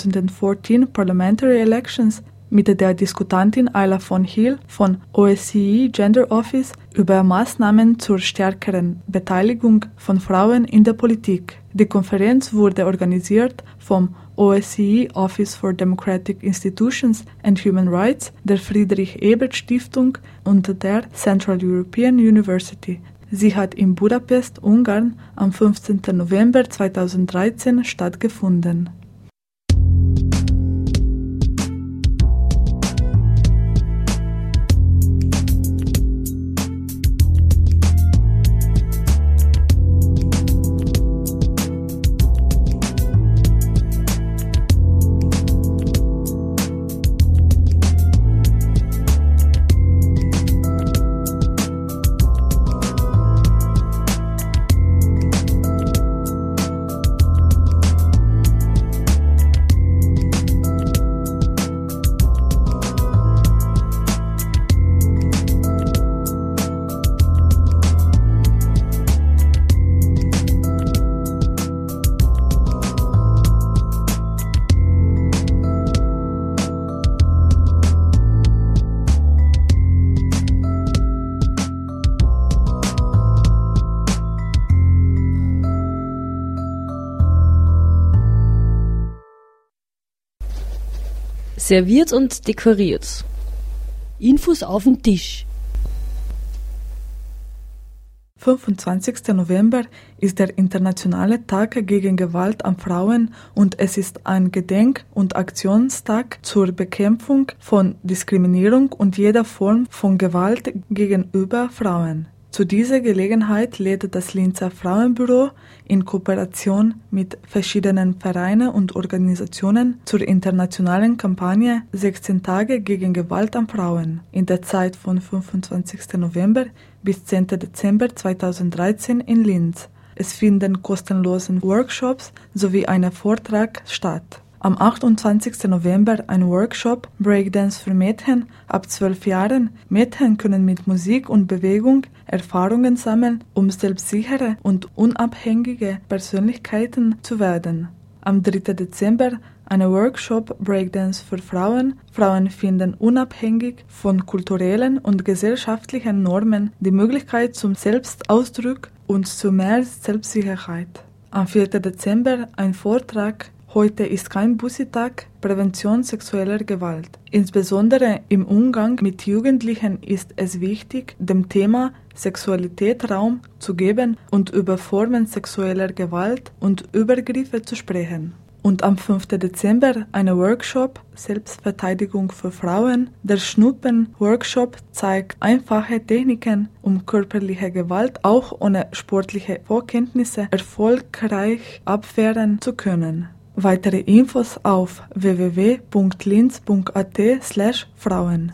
D: 2014 Parliamentary Elections mit der Diskutantin Ayla von Hill von OSCE Gender Office über Maßnahmen zur stärkeren Beteiligung von Frauen in der Politik. Die Konferenz wurde organisiert vom OSCE Office for Democratic Institutions and Human Rights, der Friedrich-Ebert-Stiftung und der Central European University. Sie hat in Budapest, Ungarn, am 15. November 2013 stattgefunden.
B: Serviert und dekoriert.
F: Infos auf den Tisch.
D: 25. November ist der internationale Tag gegen Gewalt an Frauen und es ist ein Gedenk- und Aktionstag zur Bekämpfung von Diskriminierung und jeder Form von Gewalt gegenüber Frauen. Zu dieser Gelegenheit lädt das Linzer Frauenbüro in Kooperation mit verschiedenen Vereinen und Organisationen zur internationalen Kampagne 16 Tage gegen Gewalt an Frauen in der Zeit von 25. November bis 10. Dezember 2013 in Linz. Es finden kostenlose Workshops sowie ein Vortrag statt. Am 28. November ein Workshop Breakdance für Mädchen ab 12 Jahren. Mädchen können mit Musik und Bewegung Erfahrungen sammeln, um selbstsichere und unabhängige Persönlichkeiten zu werden. Am 3. Dezember ein Workshop Breakdance für Frauen. Frauen finden unabhängig von kulturellen und gesellschaftlichen Normen die Möglichkeit zum Selbstausdruck und zu mehr Selbstsicherheit. Am 4. Dezember ein Vortrag Heute ist kein Bussi-Tag, Prävention sexueller Gewalt. Insbesondere im Umgang mit Jugendlichen ist es wichtig, dem Thema Sexualität Raum zu geben und über Formen sexueller Gewalt und Übergriffe zu sprechen. Und am 5. Dezember ein Workshop Selbstverteidigung für Frauen. Der Schnuppen-Workshop zeigt einfache Techniken, um körperliche Gewalt auch ohne sportliche Vorkenntnisse erfolgreich abwehren zu können. Weitere Infos auf www.linz.at/Frauen.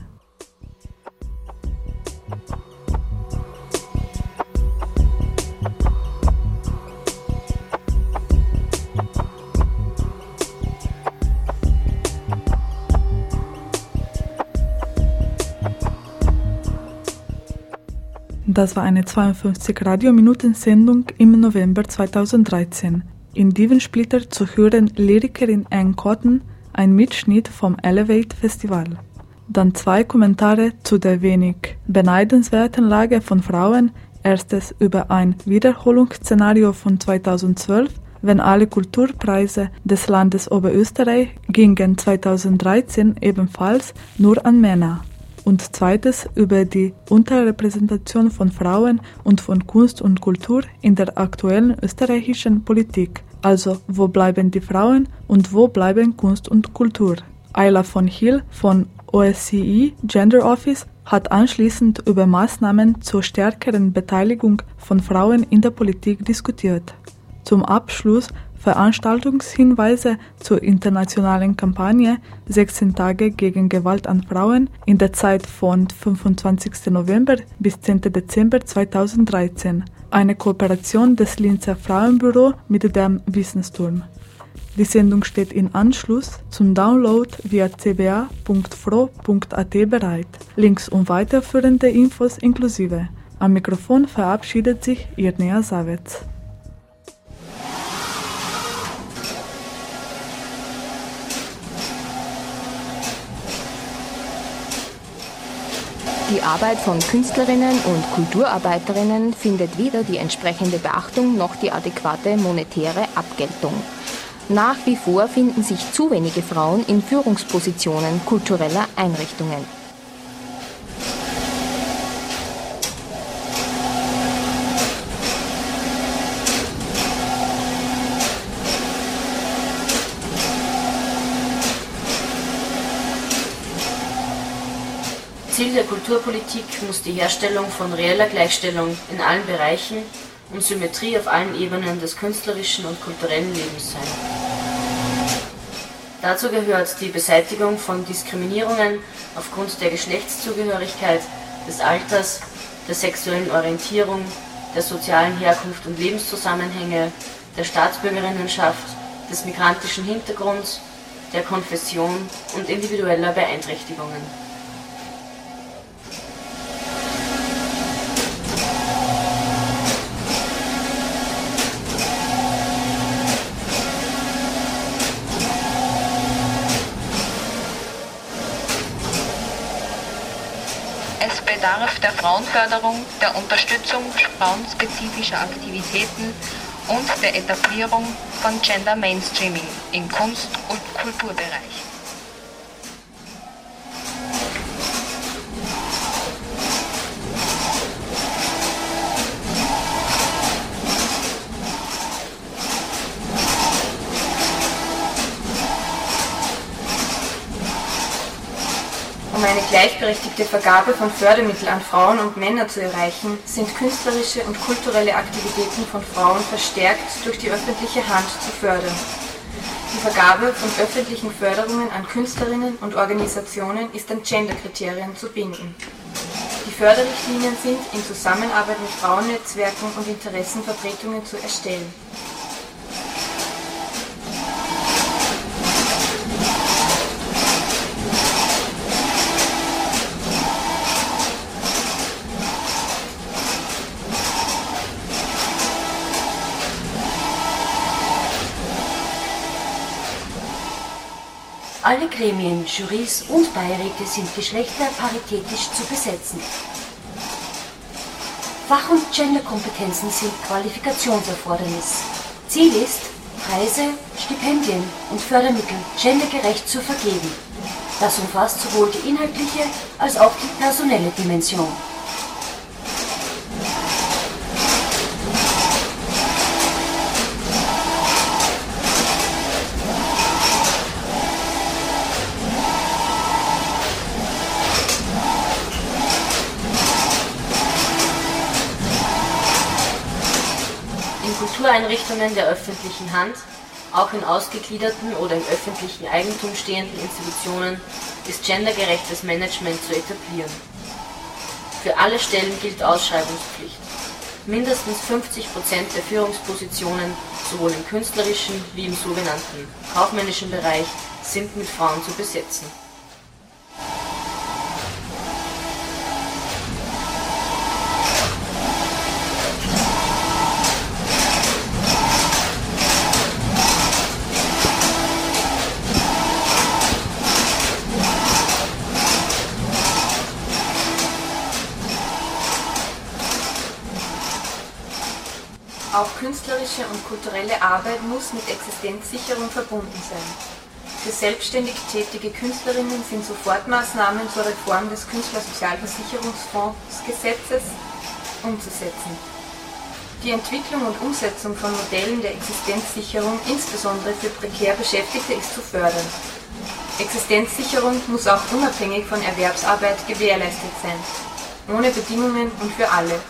D: Das war eine 52 Radiominuten-Sendung im November 2013. In Divensplitter zu hören Lyrikerin Anne Cotton, ein Mitschnitt vom Elevate Festival. Dann 2 Kommentare zu der wenig beneidenswerten Lage von Frauen. Erstes über ein Wiederholungsszenario von 2012, wenn alle Kulturpreise des Landes Oberösterreich gingen 2013 ebenfalls nur an Männer. Und zweites über die Unterrepräsentation von Frauen und von Kunst und Kultur in der aktuellen österreichischen Politik. Also, wo bleiben die Frauen und wo bleiben Kunst und Kultur? Ayla von Hill von OSCE Gender Office hat anschließend über Maßnahmen zur stärkeren Beteiligung von Frauen in der Politik diskutiert. Zum Abschluss Veranstaltungshinweise zur internationalen Kampagne 16 Tage gegen Gewalt an Frauen in der Zeit von 25. November bis 10. Dezember 2013. Eine Kooperation des Linzer Frauenbüro mit dem Wissensturm. Die Sendung steht in Anschluss zum Download via cba.fro.at bereit. Links und weiterführende Infos inklusive. Am Mikrofon verabschiedet sich Irnea Savets.
J: Die Arbeit von Künstlerinnen und Kulturarbeiterinnen findet weder die entsprechende Beachtung noch die adäquate monetäre Abgeltung. Nach wie vor finden sich zu wenige Frauen in Führungspositionen kultureller Einrichtungen.
K: Ziel der Kulturpolitik muss die Herstellung von reeller Gleichstellung in allen Bereichen und Symmetrie auf allen Ebenen des künstlerischen und kulturellen Lebens sein. Dazu gehört die Beseitigung von Diskriminierungen aufgrund der Geschlechtszugehörigkeit, des Alters, der sexuellen Orientierung, der sozialen Herkunft und Lebenszusammenhänge, der Staatsbürgerinnenschaft, des migrantischen Hintergrunds, der Konfession und individueller Beeinträchtigungen.
J: Es bedarf der Frauenförderung, der Unterstützung frauenspezifischer Aktivitäten und der Etablierung von Gender Mainstreaming im Kunst- und Kulturbereich.
K: Um eine gleichberechtigte Vergabe von Fördermitteln an Frauen und Männer zu erreichen, sind künstlerische und kulturelle Aktivitäten von Frauen verstärkt durch die öffentliche Hand zu fördern. Die Vergabe von öffentlichen Förderungen an Künstlerinnen und Organisationen ist an Genderkriterien zu binden. Die Förderrichtlinien sind in Zusammenarbeit mit Frauennetzwerken und Interessenvertretungen zu erstellen.
L: Alle Gremien, Jurys und Beiräte sind geschlechterparitätisch zu besetzen. Fach- und Genderkompetenzen sind Qualifikationserfordernis. Ziel ist, Preise, Stipendien und Fördermittel gendergerecht zu vergeben. Das umfasst sowohl die inhaltliche als auch die personelle Dimension.
M: Kultureinrichtungen der öffentlichen Hand, auch in ausgegliederten oder im öffentlichen Eigentum stehenden Institutionen, ist gendergerechtes Management zu etablieren. Für alle Stellen gilt Ausschreibungspflicht. Mindestens 50% der Führungspositionen, sowohl im künstlerischen wie im sogenannten kaufmännischen Bereich, sind mit Frauen zu besetzen.
K: Auch künstlerische und kulturelle Arbeit muss mit Existenzsicherung verbunden sein. Für selbstständig tätige Künstlerinnen sind Sofortmaßnahmen zur Reform des Künstlersozialversicherungsfondsgesetzes umzusetzen. Die Entwicklung und Umsetzung von Modellen der Existenzsicherung, insbesondere für prekär Beschäftigte, ist zu fördern. Existenzsicherung muss auch unabhängig von Erwerbsarbeit gewährleistet sein, ohne Bedingungen und für alle.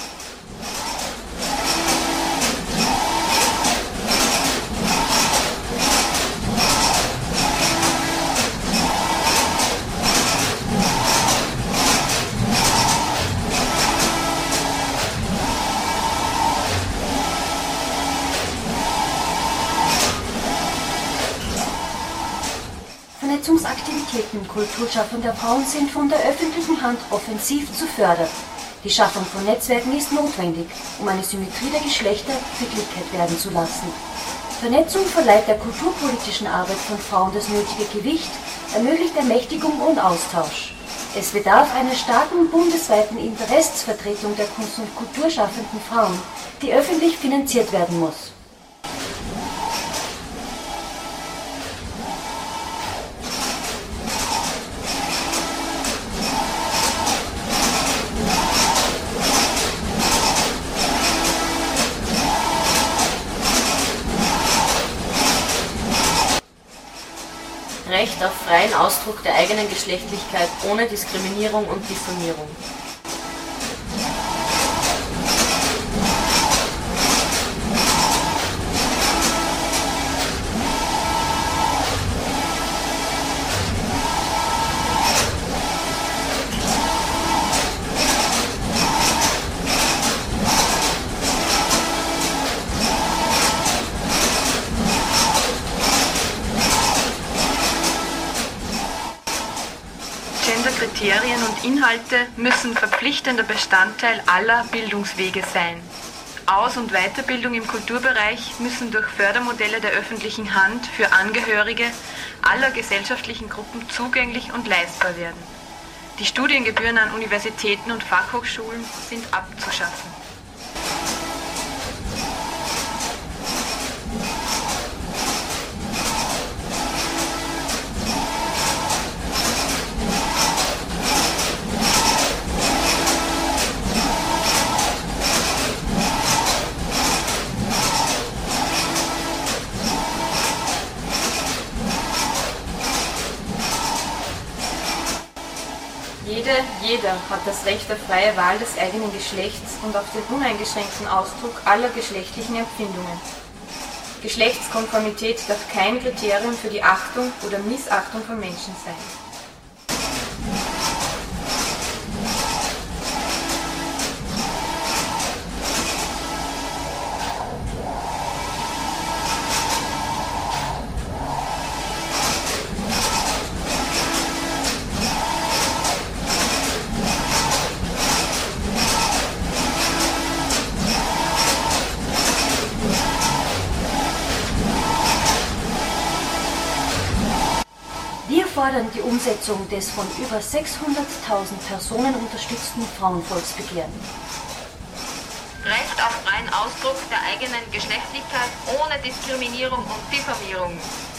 L: Vernetzungsaktivitäten kulturschaffender Frauen sind von der öffentlichen Hand offensiv zu fördern. Die Schaffung von Netzwerken ist notwendig, um eine Symmetrie der Geschlechter für Wirklichkeit werden zu lassen. Vernetzung verleiht der kulturpolitischen Arbeit von Frauen das nötige Gewicht, ermöglicht Ermächtigung und Austausch. Es bedarf einer starken bundesweiten Interessensvertretung der Kunst- und Kulturschaffenden Frauen, die öffentlich finanziert werden muss.
M: Recht auf freien Ausdruck der eigenen Geschlechtlichkeit ohne Diskriminierung und Diffamierung.
K: Kriterien und Inhalte müssen verpflichtender Bestandteil aller Bildungswege sein. Aus- und Weiterbildung im Kulturbereich müssen durch Fördermodelle der öffentlichen Hand für Angehörige aller gesellschaftlichen Gruppen zugänglich und leistbar werden. Die Studiengebühren an Universitäten und Fachhochschulen sind abzuschaffen. Jeder hat das Recht auf freie Wahl des eigenen Geschlechts und auf den uneingeschränkten Ausdruck aller geschlechtlichen Empfindungen. Geschlechtskonformität darf kein Kriterium für die Achtung oder Missachtung von Menschen sein.
L: fordern die Umsetzung des von über 600.000 Personen unterstützten Frauenvolksbegehren.
N: Recht auf freien Ausdruck der eigenen Geschlechtlichkeit ohne Diskriminierung und Diffamierung.